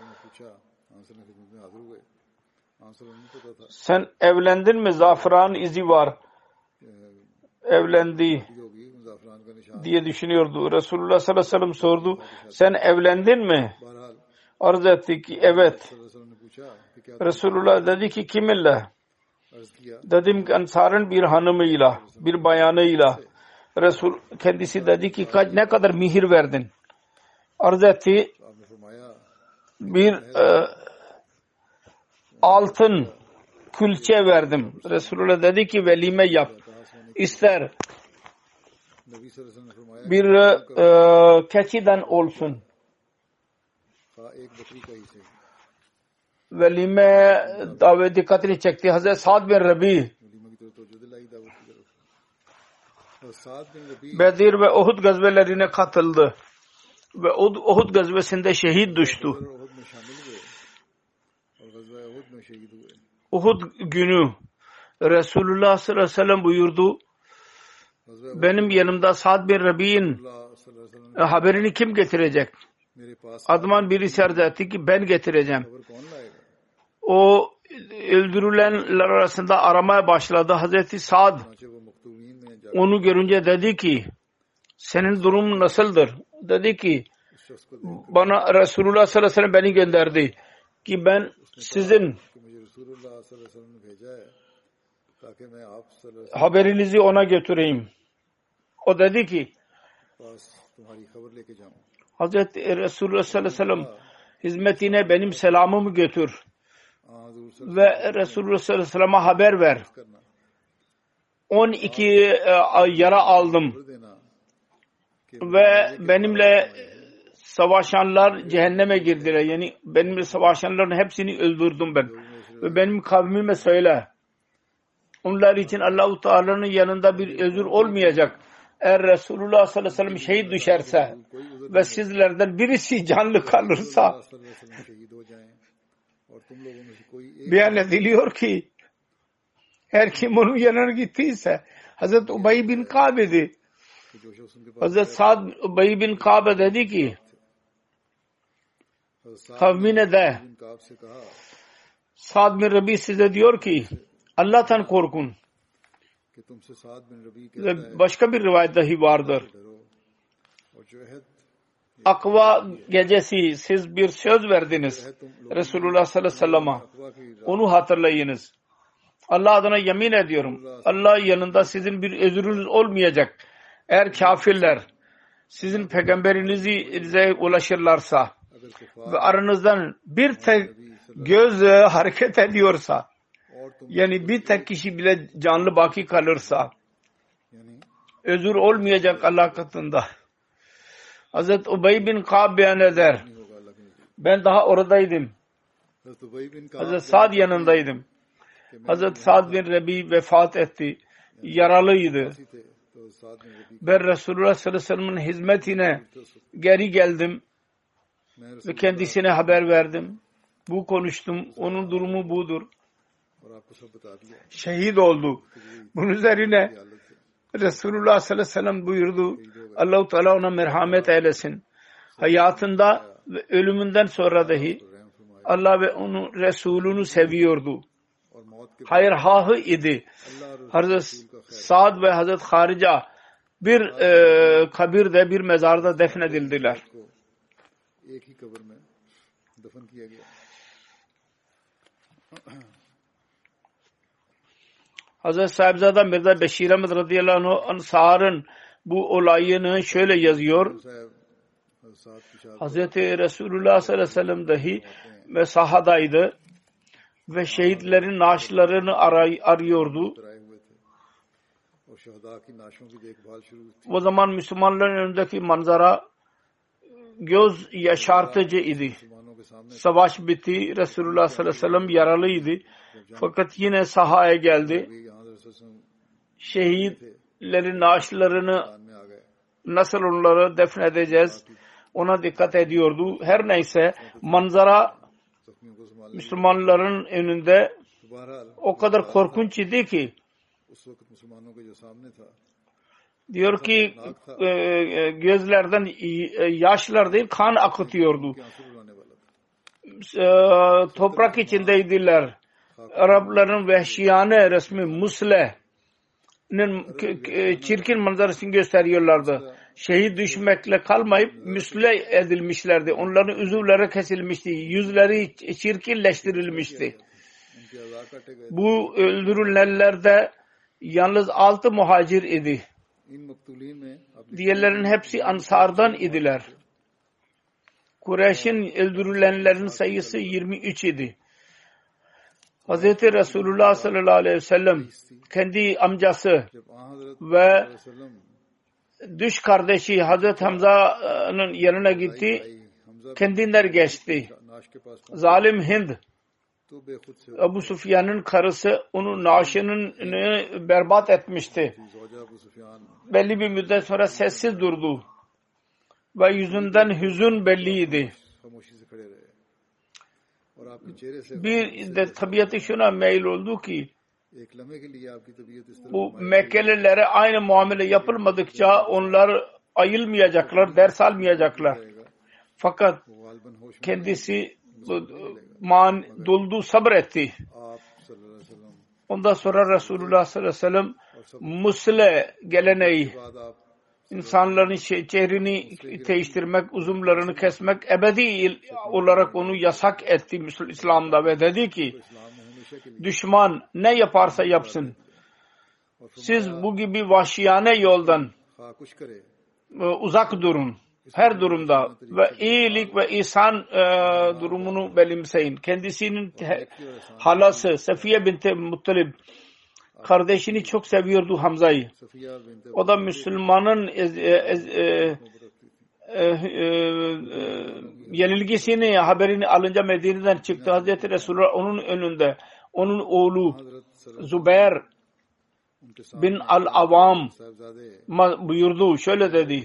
Sen evlendin mi? Zaferan izi var. Evlendi diye düşünüyordu. Resulullah sallallahu aleyhi ve sellem sordu. Sen evlendin mi? Arz etti ki evet. Resulullah dedi ki kiminle? Dedim ki Ansar'ın bir hanımıyla, bir bayanıyla. Resul kendisi dedi ki ne kadar mihir verdin? Arz etti bir altın külçe verdim. Resulullah dedi ki velime yap. İster bir keçiden olsun. Velime davet dikkatini çekti. Hazreti Sa'd bin Rabi Bedir ve Uhud gazvelerine katıldı. Ve Uhud gazvesinde şehit düştü. Uhud günü Resulullah sallallahu aleyhi ve sellem buyurdu. Benim yanımda Sa'd bin Rabi'nin haberini kim getirecek? Adman birisi arz etti ki ben getireceğim. O öldürülenler arasında aramaya başladı. Hazreti Sa'd onu görünce dedi ki senin durumun nasıldır? Dedi ki bana Resulullah sallallahu aleyhi ve sellem beni gönderdi ki ben sizin haberinizi ona götüreyim. O dedi ki Hazreti Resulullah sallallahu aleyhi ve sellem hizmetine benim selamımı götür ve Resulullah sallallahu aleyhi ve sellem'e haber ver. 12 yara aldım ve benimle savaşanlar cehenneme girdiler. Yani benimle savaşanların hepsini öldürdüm ben. Ve benim kavmime söyle. Onlar için Allah-u Teala'nın yanında bir özür olmayacak. Eğer Resulullah sallallahu aleyhi ve sellem şehit düşerse ve sizlerden birisi canlı kalırsa beyan ediliyor ki her kim onun yanına gittiyse Hazreti Ubay bin Kabe'di. Hazreti Sa'd Ubay bin Kabe dedi ki kavmine de Sa'd bin Rabi size diyor ki Allah'tan korkun. Ve başka bir rivayet dahi vardır. Akva gecesi siz bir söz verdiniz Resulullah sallallahu aleyhi ve sellem'e. Onu hatırlayınız. Allah adına yemin ediyorum. Allah yanında sizin bir özrünüz olmayacak. Eğer kafirler sizin peygamberinize ulaşırlarsa ve aranızdan bir tek göz hareket ediyorsa, yani bir tek kişi bile canlı baki kalırsa özür olmayacak Allah katında. Hazreti Ubey bin Ka'b beyan eder. Ben daha oradaydım. Hazreti Sa'd yanındaydım. Hazreti Sa'd bin Rabi vefat etti. Yaralıydı. Ben Resulullah sallallahu aleyhi ve sellem'in hizmetine geri geldim ve kendisine haber verdim. Bu konuştum. Onun durumu budur. Şehit oldu. Bunun üzerine Resulullah sallallahu aleyhi ve sellem buyurdu. Allah-u Teala ona merhamet eylesin. Hayatında ve ölümünden sonra dahi Allah ve onun Resulünü seviyordu. Hayır hahı idi. Hazreti Sa'd ve Hazreti Harica bir kabirde, bir mezarda defnedildiler. Hazreti Sahibzada Mirza Beşir Ahmed radıyallahu anh Ansar'ın bu olayını şöyle yazıyor. Hazreti Resulullah sallallahu aleyhi ve sellem dahi sahadaydı ve şehitlerin naaşlarını arıyordu. O zaman Müslümanların önündeki manzara göz yaşartıcı idi. Savaş bitti. Resulullah sallallahu aleyhi ve sellem yaralıydı. Fakat yine sahaya geldi. Şehitlerin naaşlarını nasıl onları defnedeceğiz ona dikkat ediyordu. Her neyse manzara Müslümanların önünde o kadar korkunç idi ki diyor ki gözlerden yaşlar değil kan akıtıyordu. Toprak içindeydiler. Arapların vehşiyane resmi Musle'nin çirkin manzarasını gösteriyorlardı. Şehit düşmekle kalmayıp müsle edilmişlerdi. Onların üzümleri kesilmişti. Yüzleri çirkinleştirilmişti. Bu öldürülenlerde yalnız 6 muhacir idi. Diğerlerin hepsi Ansar'dan idiler. Kureyş'in öldürülenlerin sayısı 23 idi. Hz. Resulullah sallallahu aleyhi ve sellem kendi amcası ve düş kardeşi Hazreti Hamza'nın yanına gitti. Kendinden geçti. Zalim Hind, Ebu Sufyan'ın karısı onun naaşını berbat etmişti. Belli bir müddet sonra sessiz durdu. Ve yüzünden hüzün belliydi. Bir de tabiatı şuna meyil oldu ki bu Mekkelilere aynı muamele yapılmadıkça onlar ayılmayacaklar, ders almayacaklar. Fakat kendisi doldu, sabretti. Ondan sonra Resulullah sallallahu aleyhi ve sellem musle geleneği, insanların çehrini değiştirmek, uzunlarını kesmek ebedi olarak onu yasak etti İslam'da ve dedi ki düşman ne yaparsa yapsın siz bu gibi vahşiyane yoldan uzak durun her durumda ve iyilik ve ihsan durumunu benimseyin. Kendisinin halası Safiye binti Muttalib kardeşini çok seviyordu Hamza'yı. O da Müslümanın yenilgisini haberini alınca Medine'den çıktı. Hazreti Resulullah onun önünde onun oğlu Zübeyir bin al-Avam buyurdu. Şöyle dedi.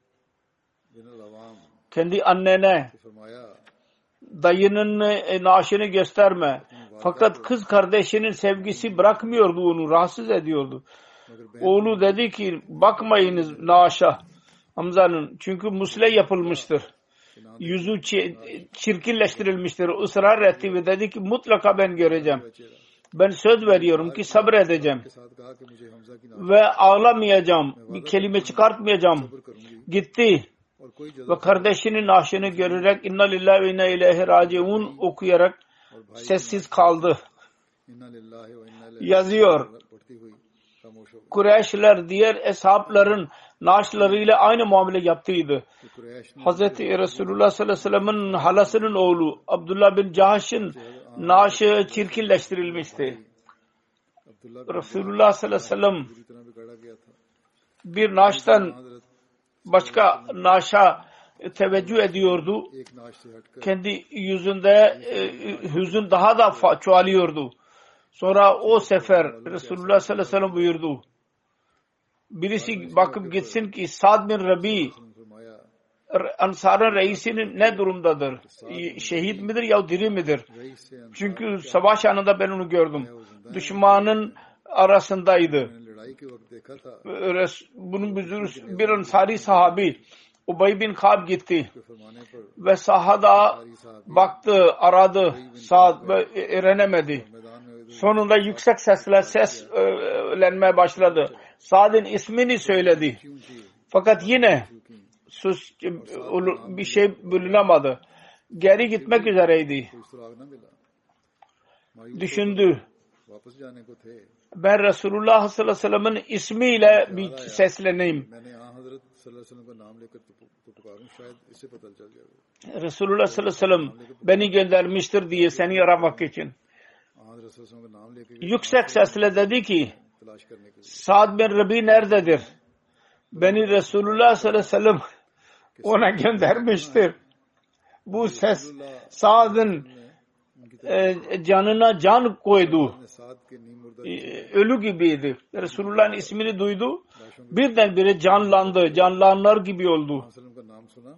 Kendi annene dayının naaşını gösterme. Fakat kız kardeşinin sevgisi bırakmıyordu onu. Rahatsız ediyordu. Oğlu dedi ki bakmayınız naaşa Hamza'nın. Çünkü musle yapılmıştır. Yüzü çirkinleştirilmiştir. Israr etti ve dedi ki mutlaka ben göreceğim. Ben söz veriyorum ki sabredeceğim. Ve ağlamayacağım. Bir kelime çıkartmayacağım. Gitti. Ve kardeşinin naaşını görerek inna lillahi ve inna ileyhi raciun okuyarak sessiz kaldı. इन्ना लिल्लाहि व इन्ना इलैहि yazıyor. पढ़ती हुई खामोश हो गई Kureyşler diğer eshapların naaşlarıyla aynı muamele yaptıydı. कि कुरैश ने Hazreti Resulullah sallallahu aleyhi ve sellem'in halasının oğlu Abdullah bin Cahş'ın naaşı çirkinleştirilmişti. Abdullah Resulullah sallallahu aleyhi ve sellem पूरी तरह बिगाड़ा गया था bir naaştan हजरत başka naaşa teveccüh ediyordu. एक नाश से हटकर Kendi yüzünde hüzün daha da çoğalıyordu. Sonra o sefer Resulullah sallallahu aleyhi ve sellem buyurdu. Birisi bakıp gitsin ki Sa'd bin Rabi फरमाया Ansar'ın reisinin ne durumdadır? Şehit midir ya diri midir? Rice से Çünkü savaş anında ben onu gördüm. Düşmanın arasındaydı. मैंने लड़ाई के वक्त देखा था Bunun bir Ansari sahabi Ubay bin Kab gitti कि फरमाने पर ve sahada baktı, aradı, Sa'd ve öğrenemedi. मैदान में Sonunda yüksek sesle seslenmeye başladı. Sa'd'ın ismini söyledi. ऊंची Fakat yine sus bir şey bulunamadı. Geri gitmek üzereydi. कोई सुराग न मिला मायूस Düşündü. वापस जाने को थे Ben Resulullah sallallahu aleyhi ve sellem'in ismiyle bir sesleneyim. मैंने यहाँ हजरत सल्लल्लाहु अलैहि वसल्लम का नाम लेकर तो पुकारूं शायद इससे पता चल जाएगा Resulullah sallallahu aleyhi ve sellem beni göndermiştir diye seni aramak için. यहाँ हजरत सल्लल्लाहु अलैहि वसल्लम का नाम लेकर Yüksek sesle dedi ki तलाश करने के लिए Sa'd bin Rabi nerededir? Beni Resulullah sallallahu aleyhi ve sellem ona göndermiştir. Bu ses Sa'd'ın canına can koydu. मैंने साद के नीम मुर्दा Ölü gibiydi. Resulullah'ın ismini duydu. Birdenbire canlandı. Canlanlar gibi oldu. वसल्लम का नाम सुना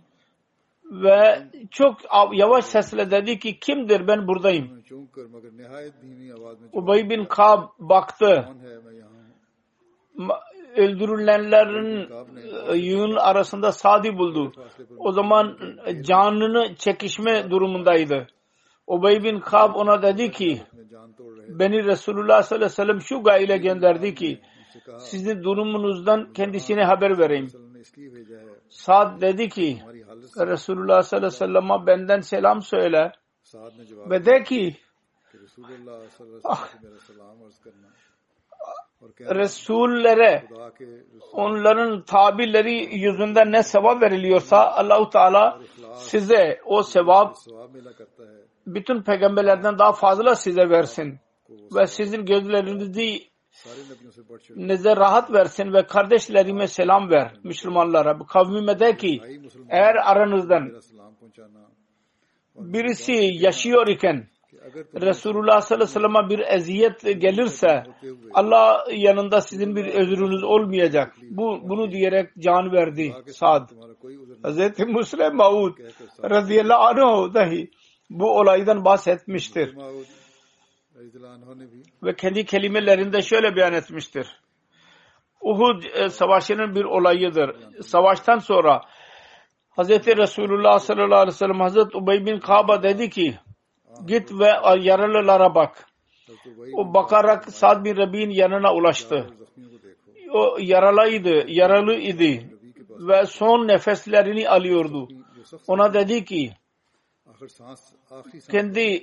Ve çok yavaş sesle dedi ki kimdir, ben buradayım. मैं चौंक कर मगर निहायत धीमी आवाज में Ubay bin Kab baktı. कौन है मैं यहाँ हूँ Öldürülenlerin yığın arasında Sa'd'ı buldu. O zaman canını çekişme durumundaydı. Ubay bin Kab ona dedi ki मैं जान तोड़ रहे beni Resulullah sallallahu aleyhi ve sellem şu gayle gönderdi ki उससे कहा sizin durumunuzdan kendisine haber vereyim. वसल्लम ने इसलिए भेजा है Sa'd dedi ki हमारी हालत Resulullah sallallahu aleyhi ve sellem'e benden selam söyle साद ने जवाब ve de ki कि रसूलुल्लाह सल्लल्लाहु अलैहि वसल्लम से मेरा सलाम अर्ज करना और कहना Resullere खुदा के रसूल onların tabirleri yüzünden ne sevap veriliyorsa Allahu Teala size o sevap सवाब मिला करता है bütün peygamberlerden daha fazla size versin ve sizin gözlerinizi सारे नबियों से बढ़ चढ़ size rahat versin ve kardeşlerime selam ver Müslümanlara. Bu kavmime de ki भाई मुसलमान eğer aranızdan मेरा सलाम पहुंचाना birisi yaşıyor iken कि अगर तुम Resulullah sallallahu aleyhi ve sellem'e bir eziyet gelirse Allah yanında sizin bir özrünüz olmayacak. Bunu diyerek can verdi Sa'd. तुम्हारा कोई उज़र Hazreti Müslim Maud radıyallahu anh dahi bu olaydan bahsetmiştir. माऊद रज़ियल्लाहु अन्हु ने भी Ve kendi kelimelerinde şöyle beyan etmiştir. Uhud savaşının bir olayıdır. Savaştan sonra Hazreti Resulullah sallallahu aleyhi ve sellem Hazreti Ubay bin Kab'a dedi ki git ve yaralılara bak. हज़रत वही O bakarak Sa'd bin Rabi'nin yanına ulaştı. ज़ख्मियों को देखो O yaralı idi ve son nefeslerini alıyordu. जो सख्त Ona dedi ki आखिरी सांस kendi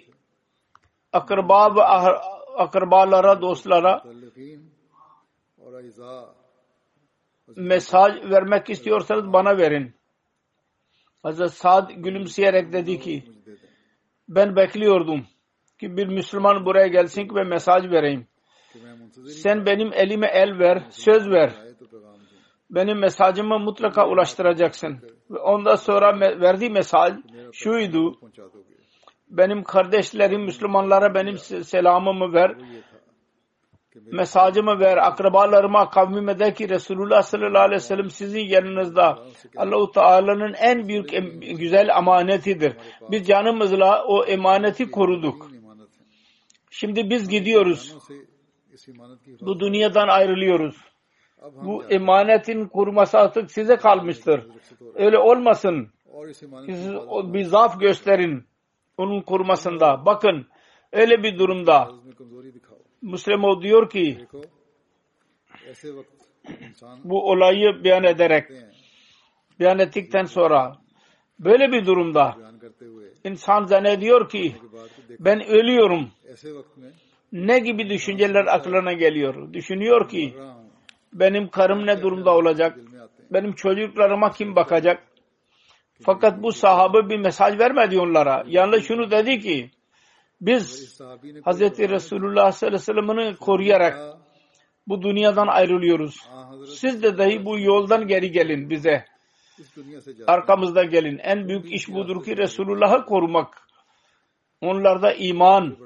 akrabalara, dostlara मुतल्लिक़ीन और अज़ा mesaj vermek istiyorsanız bana verin. Hazreti Sa'd gülümseyerek dedi ki मुझे दे दें ben bekliyordum ki bir Müslüman buraya gelsin ki ve mesaj vereyim. कि मैं मुंतज़िर Sen benim elime el ver, söz ver. आए तो पैगाम दूं Benim mesajımı mutlaka ulaştıracaksın. Ve ondan sonra verdiği mesaj şuydu. पहुंचा दोगे Benim kardeşlerim Müslümanlara benim selamımı ver. वो ये था कि मेरे Mesajımı ver. Akrabalarıma, kavmime de ki Resulullah sallallahu aleyhi ve sellem sizin yanınızda Allah-u Teala'nın en büyük güzel emanetidir. Biz canımızla o emaneti koruduk. ईमानत है Şimdi biz gidiyoruz. से इस ईमानत की Bu dünyadan ayrılıyoruz. अब हम Bu emanetin koruması artık size kalmıştır. Öyle olmasın. और इस ईमानत Siz bir zaaf gösterin onun korumasında. Bakın öyle bir durumda में कमजोरी दिखाओ Müslüman diyor ki देखो ऐसे वक्त इंसान bu olayı beyan ettikten sonra böyle bir durumda बयान करते हुए insan zannediyor ki के बाद को देख ben ölüyorum. ऐसे वक्त में ne gibi düşünceler aklına geliyor? Düşünüyor ki benim karım ne durumda olacak? Benim çocuklarıma kim bakacak? Fakat bu sahabe bir mesaj vermedi onlara. Yalnız şunu dedi ki biz Hz. Resulullah sallallahu aleyhi ve sellem'i koruyarak bu dünyadan ayrılıyoruz. Siz de dahi bu yoldan geri gelin bize. Arkamızda gelin. En büyük iş budur ki Resulullah'ı korumak. Onlarda iman.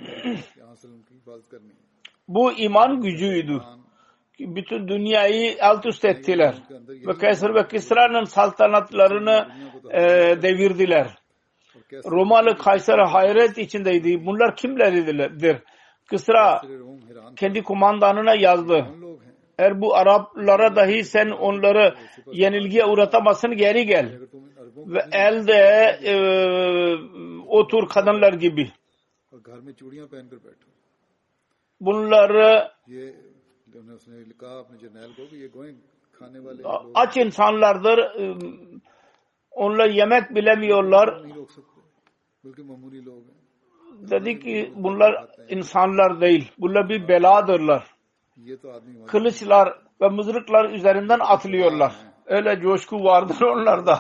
Bu iman gücüydü. Bütün dünyayı alt üst ettiler. Ve Kaysar ve Kisra'nın saltanatlarını devirdiler. Romalı Kaysar hayret içindeydi. Bunlar kimleridir? Kisra kendi kumandanına yazdı. Eğer bu Araplara dahi sen onları yenilgiye uğratamazsın, geri gel. Ve elde otur kadınlar gibi. Bunları aç insanlardır. Onlar yemek bilemiyorlar. Dedi ki bunlar insanlar değil. Bunlar bir beladırlar. Kılıçlar ve mızraklar üzerinden atlıyorlar. Öyle coşku vardır onlarda.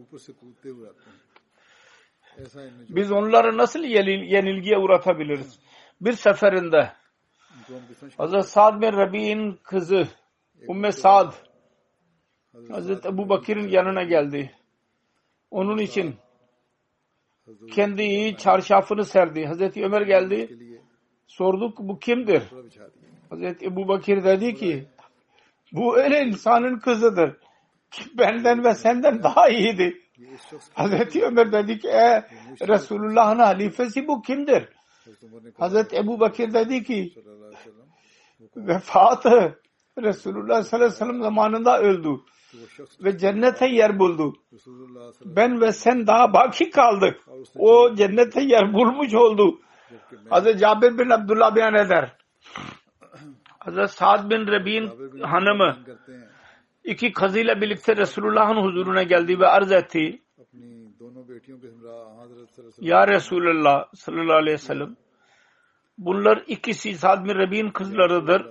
Biz onları nasıl yenilgiye uğratabiliriz? Bir seferinde Hazreti Sa'd bin Rabi'nin kızı Ümmü Sa'd Hazreti Ebu Bakir'in yanına geldi. Onun için kendi çarşafını serdi. Hazreti Ömer geldi. Sorduk bu kimdir? Hazreti Ebu Bakir dedi ki bu öyle insanın kızıdır. Benden ve senden daha iyiydi. Hazreti Ömer dedi ki Resulullah'ın halifesi bu kimdir? Hazreti Ebu Bakir dedi ki vefatı Resulullah sallallahu aleyhi ve sellem zamanında öldü ve cennete yer buldu. Ben ve sen daha baki kaldık. O cennete yer bulmuş oldu. Hazreti Cabir bin Abdullah beyan eder. Hazreti Sa'd bin Rabi'nin hanımı iki kızıyla birlikte Resulullah'ın huzuruna geldi ve arz etti. Ya Resulullah sallallahu aleyhi ve sellem bunlar ikisi Sa'd bin Rabi'nin kızlarıdır.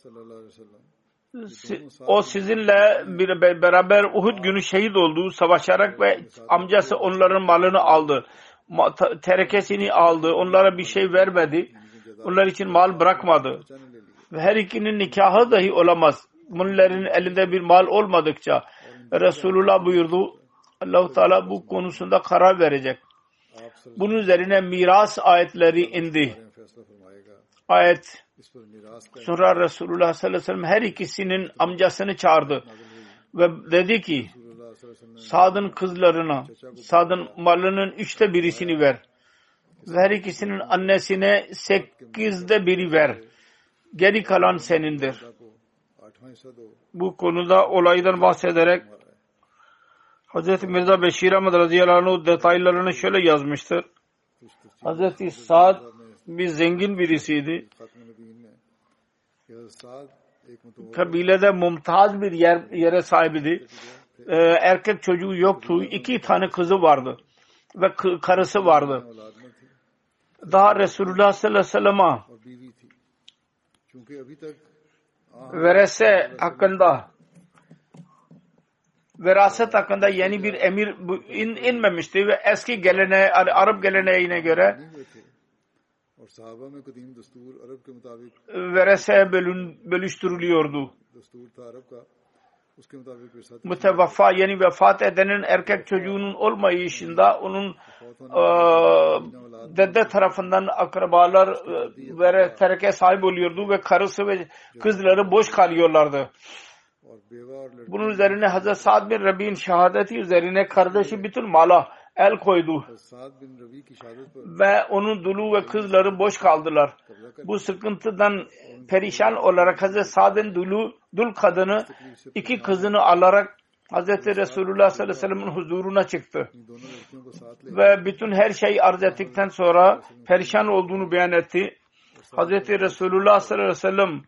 O sizinle beraber Uhud günü şehit oldu. Savaşarak ve amcası onların malını aldı. Terekesini aldı. Onlara bir şey vermedi. Onlar için mal bırakmadı. Ve her ikinin nikahı dahi olamaz. Bunların elinde bir mal olmadıkça Resulullah buyurdu. Allah-u Teala bu konusunda karar verecek. Bunun üzerine miras ayetleri indi. Ayet sonra Resulullah sallallahu aleyhi ve sellem her ikisinin amcasını çağırdı ve dedi ki Sa'd'ın kızlarına Sa'd'ın malının 1/3'ini ver ve her ikisinin annesine 1/8 ver. Geri kalan senindir. Bu konuda olaydan bahsederek Hz. Mirza Beşir Ahmed radıyallahu anh detaylarını şöyle yazmıştır. Hz. Sa'd bir zengin birisiydi. Kabilede mumtaz bir yere sahibiydi. Erkek çocuğu yoktu. 2 tane kızı vardı. Ve karısı vardı. Daha Resulullah sallallahu aleyhi ve sellem'e veraset hakkında yeni bir emir inmemişti ve eski geleneğe, Arap geleneğine göre verese bölüştürülüyordu. Mütevaffa yani vefat edenin erkek çocuğunun olmayışında onun dede tarafından akrabalar tereke sahip oluyordu ve karısı ve kızları boş kalıyorlardı. Bunun üzerine Hazreti Sa'd bin Rabi'nin şehadeti üzerine kardeşi bütün mala el koydu ve onun dulu ve kızları boş kaldılar. Bu sıkıntıdan perişan olarak Hazreti Sa'd'ın dul kadını 2 kızını alarak Hazreti Resulullah sallallahu aleyhi ve sellem'in huzuruna çıktı ve bütün her şeyi arz ettikten sonra perişan olduğunu beyan etti. Hazreti Resulullah sallallahu aleyhi ve sellem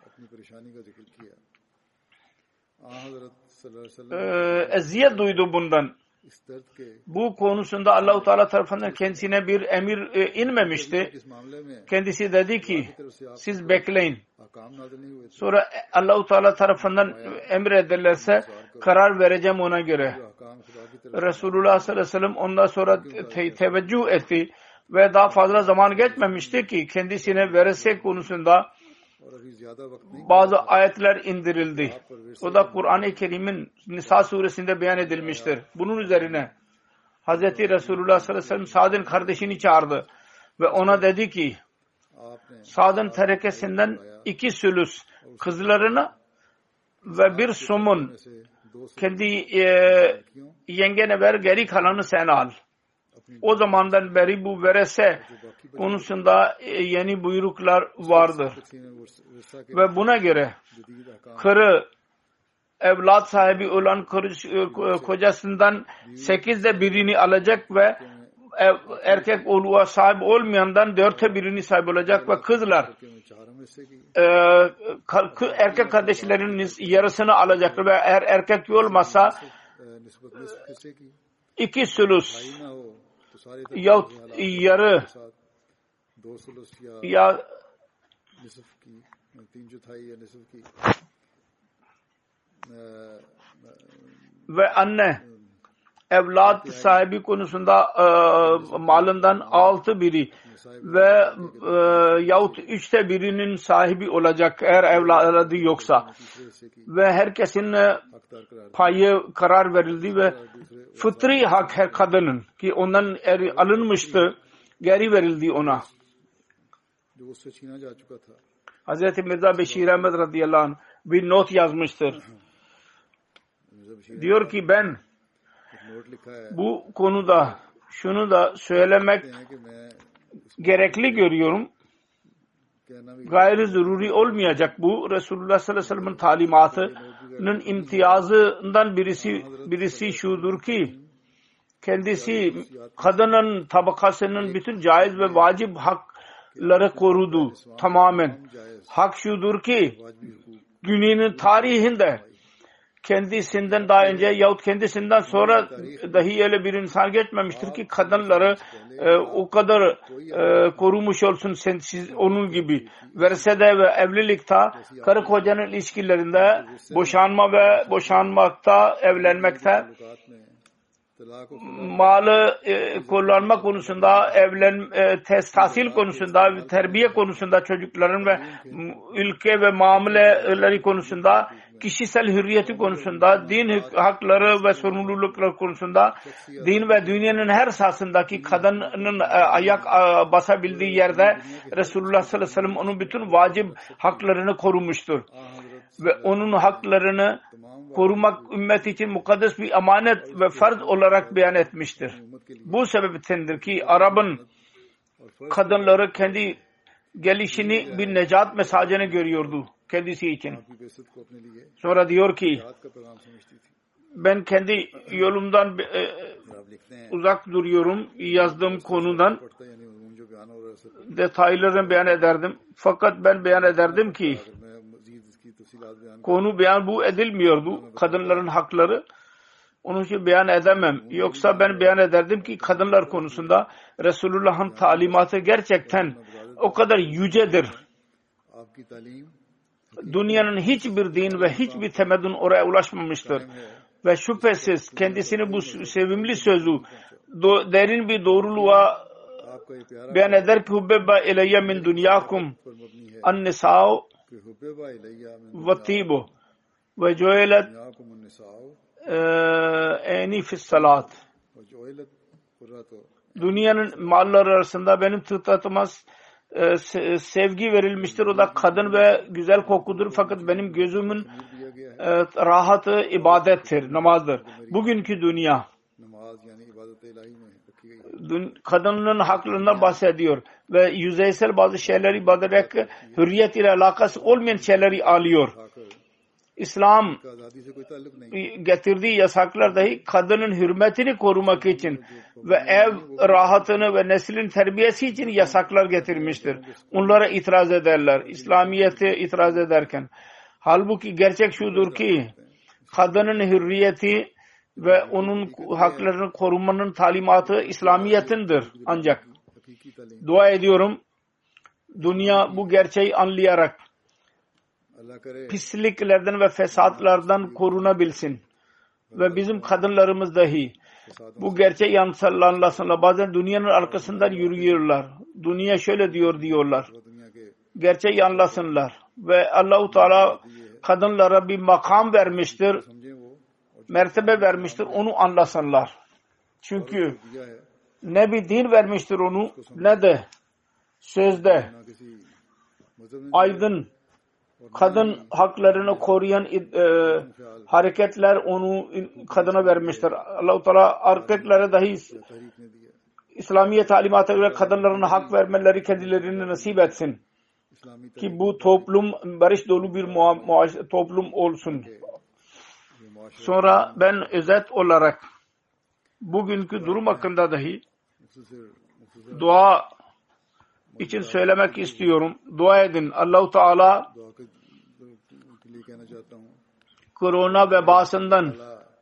eziyet duydu bundan. इस दर्द के bu konusunda Allah-u Teala tarafından kendisine bir emir inmemişti. इस मामले में Kendisi dedi ki siz bekleyin. ahkam नाज़िल नहीं हुए थे। Sonra Allah-u Teala tarafından emrederlerse karar vereceğim ona göre. ahkam खुदा की तरफ Resulullah sallallahu aleyhi ve sellem ondan sonra teveccüh etti ve daha fazla zaman geçmemişti ki kendisine verese konusunda और अभी ज्यादा वक्त नहीं bazı ayetler indirildi. O da Kur'an-ı Kerim'in Nisa suresinde beyan edilmiştir. Bunun üzerine Hazreti Resulullah sallallahu aleyhi ve sellem Sa'd'ın kardeşini çağırdı ve ona dedi ki आपने Sa'd'ın terekesinden 2 sülüs kızlarını ve bir somun से दो kendi yengene ver, geri kalanı sen al. O zamandan beri bu verese konusunda yeni buyruklar vardır. वर्षा के Ve buna göre जदीद ahkam karı evlat sahibi olan kocasından 8'de birini alacak ve erkek oğluğa sahip olmayandan 4'te birini sahip olacak ve kızlar के चारों में से की erkek kardeşlerinin yarısını alacak ve eğer erkek olmazsa निस्बत निस्फ हिस्से की 2 sülüs भाई ना हो तो सारे yahut yarı साथ दो सुलुस या ya निस्फ की 3/4 या निस्फ की ve anne evlat sahibi konusunda malından 6 biri ve yahut 3'te birinin sahibi olacak eğer evladı yoksa तीसरे हिस्से की ve herkesin हकदार करार payı karar verildi ve fıtri hak her kadının ki ondan alınmıştı geri verildi ona. जो उससे छीना जा चुका था Hazreti Mirza Beşir Ahmet radıyallahu anh bir not yazmıştır. Mirza Bashir Diyor ki ben एक नोट लिखा है bu konuda şunu da söylemek हैं कि मैं gerekli görüyorum. कहना भी Gayri zaruri olmayacak bu. Resulullah sallallahu aleyhi ve sellem'in talimatının imtiyazından birisi şudur ki kendisi kadının tabakasının bütün caiz ve vacip hakları korudu tamamen. Hak şudur ki dünyanın tarihinde kendisinden daha önce yahut kendisinden sonra dahi öyle bir insan geçmemiştir ki kadınları o kadar korumuş olsun siz onun gibi. Versede ve evlilikte karı kocanın ilişkilerinde boşanma ve boşanmakta, evlenmekte ताल्लुकात में तलाक और malı kullanma konusunda, tahsil konusunda, terbiye konusunda çocukların ve ülke ve muameleleri konusunda, kişisel hürriyeti konusunda, din hakları ve sorumlulukları konusunda, din ve dünyanın her sahasındaki kadının ayak basabildiği yerde Resulullah sallallahu aleyhi ve sellem onun bütün vacip haklarını korumuştur. Ve onun haklarını korumak ümmet için mukaddes bir emanet ve farz olarak beyan etmiştir. Bu sebeptendir ki Arap'ın kadınları kendi gelişini bir necat mesajını görüyordu kendisi için. की बेइज्जत को अपने लिए Sonra diyor ki रात का पैगाम समझती थी। ben kendi yolumdan आप लिखते हैं uzak duruyorum yazdığım konudan पढ़ता यानी उन्होंने जो बयान हो रहा है sir detaylarını beyan ederdim. Fakat ben beyan ederdim ki अगर मैं मजीद इसकी तफसीलात बयान konu beyan bu edilmiyordu. Kadınların hakları. Onun için beyan edemem. Yoksa ben beyan ederdim ki kadınlar konusunda Resulullah'ın talimatı gerçekten o kadar yücedir. आपकी तालीम Dünyanın hiçbir din ve hiçbir temeddün oraya ulaşmamıştır. Ve şüphesiz kendisini bu sevimli sözü derin bir doğruluğa आपका ये प्यारा beyan eder ki hubbeba ileyye min dünyakum पर मबनी है an-nisa'u कि हुब्बा इलैया मिन ve tibu ve cu'ilet दुनियाकुम अन्निसाउ eni fissalat. व जुइलत कुर्रतु Dünyanın malları arasında benim tıklatıma sevgi verilmiştir. O da kadın ve güzel kokudur. Fakat benim gözümün दिया गया है rahatı ibadettir, namazdır. Bugünkü dünya नमाज यानी इबादत इलाही में रखी गई kadının haklarından bahsediyor ve yüzeysel bazı şeyleri ibadet hürriyet ile alakası olmayan şeyleri alıyor. खाकर İslam का आज़ादी से कोई ताल्लुक नहीं getirdiği yasaklar dahi kadının hürmetini korumak için ve ev rahatını ve neslin terbiyesi için yasaklar getirmiştir. Onlara itiraz ederler. İslamiyet'e itiraz ederken. Halbuki gerçek şudur ki kadının hürriyeti ve onun haklarını korumanın talimatı İslamiyet'indir. Ancak dua ediyorum dünya bu gerçeği anlayarak pisliklerden ve fesatlardan korunabilsin. Ve bizim kadınlarımız dahi bu gerçeği anlasınlar. Bazen dünyanın arkasından yürüyorlar. Dünya şöyle diyorlar. Gerçeği anlasınlar. Ve Allah-u Teala kadınlara bir makam vermiştir. Mertebe vermiştir. Onu anlasınlar. Çünkü ne bir din vermiştir onu ne de sözde aydın kadın haklarını koruyan hareketler onu kadına vermiştir. Allah-u Teala erkeklere dahi İslamiye talimatına göre kadınların hak vermeleri kendilerine nasip etsin. Ki bu toplum barış dolu bir toplum olsun. Sonra ben özet olarak bugünkü durum hakkında dahi dua için söylemek istiyorum. Dua edin. Allah-u Teala korona vebasından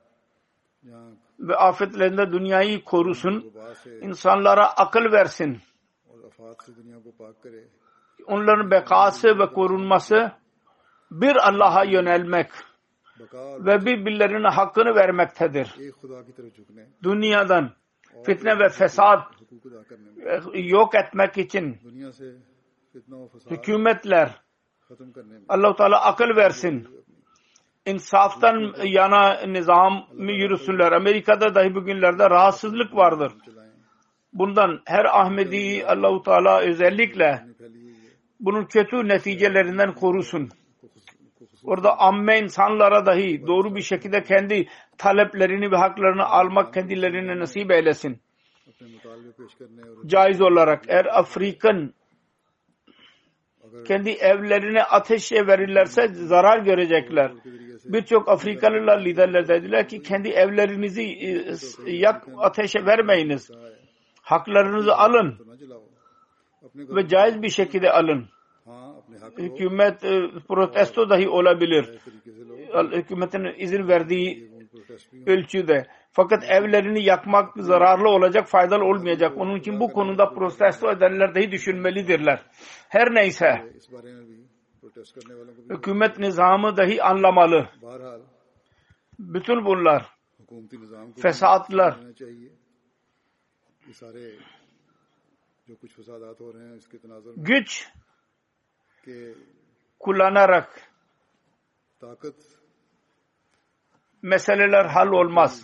ve afetlerinden dünyayı korusun. İnsanlara akıl versin. Onların bekası ve korunması bir Allah'a yönelmek ve birbirlerine hakkını vermektedir. Dünyadan fitne ve fesat yok etmek için hükümetler Allah-u Teala akıl versin. İnsaftan yana nizam yürüsünler. Amerika'da dahi bugünlerde rahatsızlık vardır. Bundan her Ahmedi Allah-u Teala özellikle bunun kötü neticelerinden korusun. Orada amme insanlara dahi doğru bir şekilde kendi taleplerini ve haklarını almak kendilerine nasip eylesin. Caiz olarak eğer Afrikan kendi evlerine ateşe verirlerse zarar görecekler. Birçok Afrikalılar liderler dediler ki kendi evlerinizi ateşe vermeyiniz. Haklarınızı alın ve caiz bir şekilde alın. Hükümet protesto dahi olabilir. Hükümetin izin verdiği ölçüde. Fakat evlerini yakmak zararlı olacak, faydalı olmayacak. Onun için bu konuda protesto edenler dahi düşünmelidirler. Her neyse hükümet nizamı dahi anlamalı. Bütün bunlar fesatlar güç kullanarak meseleler hal olmaz.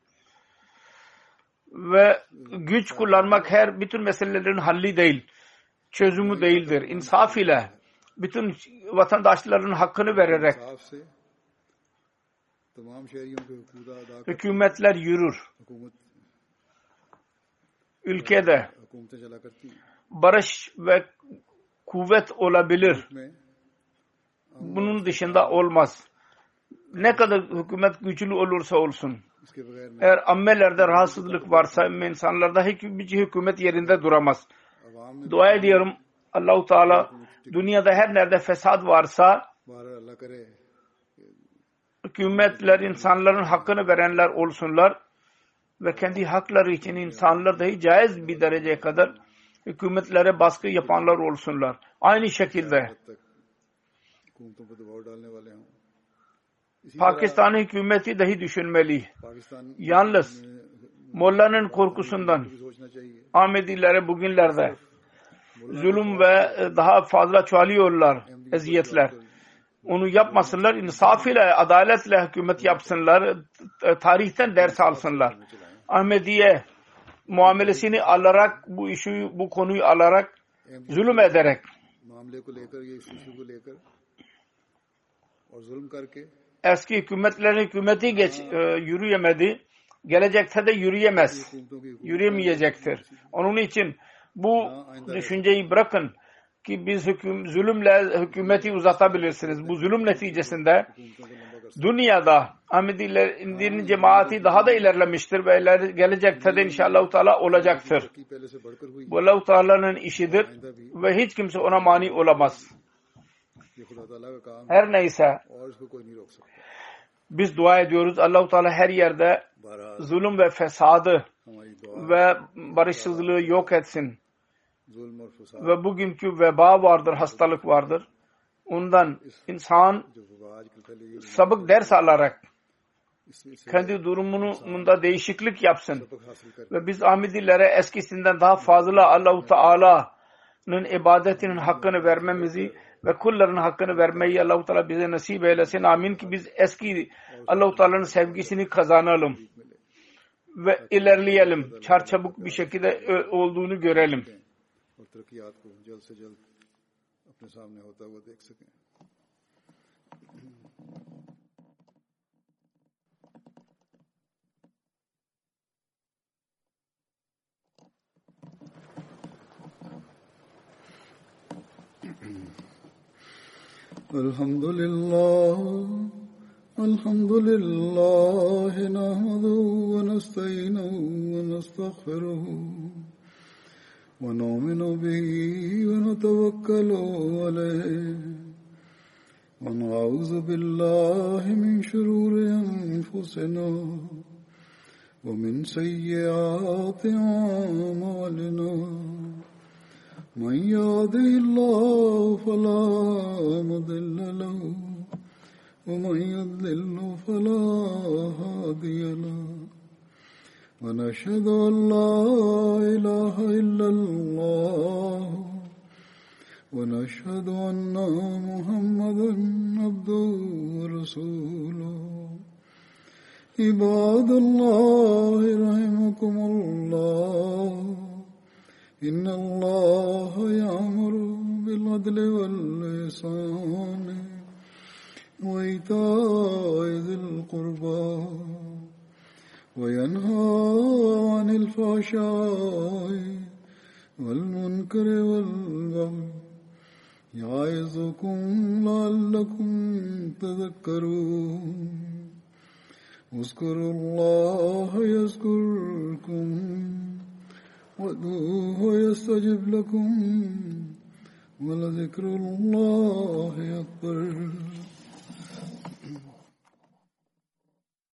Ve güç kullanmak bütün meselelerin halli değil, çözümü değildir. İnsaf ile bütün vatandaşların hakkını vererek hükümetler yürür. Ülkede barış ve kuvvet olabilir. Bunun dışında olmaz. Ne kadar hükümet güçlü olursa olsun. Eğer ammelerde rahatsızlık varsa insanlarda hiçbir hükümet yerinde duramaz. Dua ediyorum Allah-u Teala dünyada her nerede fesat varsa hükümetler insanların hakkını verenler olsunlar ve kendi hakları için insanlar dahi caiz bir dereceye kadar hükümetlere baskı yapanlar olsunlar. Aynı şekilde Pakistan hükümeti dahi düşünmeli. Yalnız Molla'nın korkusundan Ahmedilere bugünlerde zulüm ve daha fazla çoğalıyorlar eziyetler. Onu yapmasınlar. İnsaf ile, adaletle hükümet yapsınlar. Tarihten ders alsınlar. Ahmediye muamelesini alarak bu konuyu alarak zulüm ederek eski hükümeti yürüyemedi. Gelecekte de yürüyemeyecektir. Onun için bu düşünceyi bırakın ki biz zulümle hükümeti uzatabilirsiniz. Bu zulüm neticesinde dünyada Ahmedilerin cemaati daha da ilerlemiştir ve gelecekte de inşallah Teala olacaktır. Bu Allah-u Teala'nın işidir ve hiç kimse ona mani olamaz. Her neyse Biz dua ediyoruz. Allah-u Teala her yerde zulüm ve fesadı ve barışsızlığı yok etsin. Ve bugünkü veba vardır, hastalık vardır. Ondan insan sabık ders alarak kendi durumunda değişiklik yapsın. Ve biz Ahmedilere eskisinden daha fazla Allah-u Teala'nın ibadetinin hakkını vermemizi ve kulların hakkını vermeyi Allah-u Teala bize nasip eylesin. Amin ki biz eski Allah-u Teala'nın sevgisini kazanalım ve ilerleyelim. Çarçabuk bir şekilde olduğunu görelim. Elhamdülillah nahmeduhu ve nestainuhu ve nestağfiruhu ve nu'minu bihi ve netevekkalu aleyh ve na'udzu billahi min şururi enfusina ve min seyyiati a'malina. من يهده الله فلا مضل له ومن يضلل فلا هادي له ونشهد أن لا إله إلا الله ونشهد أن محمدا عبده ورسوله عباد الله رحمكم الله إن الله يأمر بالعدل والإحسان وإيتاء ذي القربى وينهى عن الفحشاء والمنكر والبغي يعظكم لعلكم تذكرون اذكروا الله يذكركم وادعوه يستجب لكم ولذكر الله أكبر.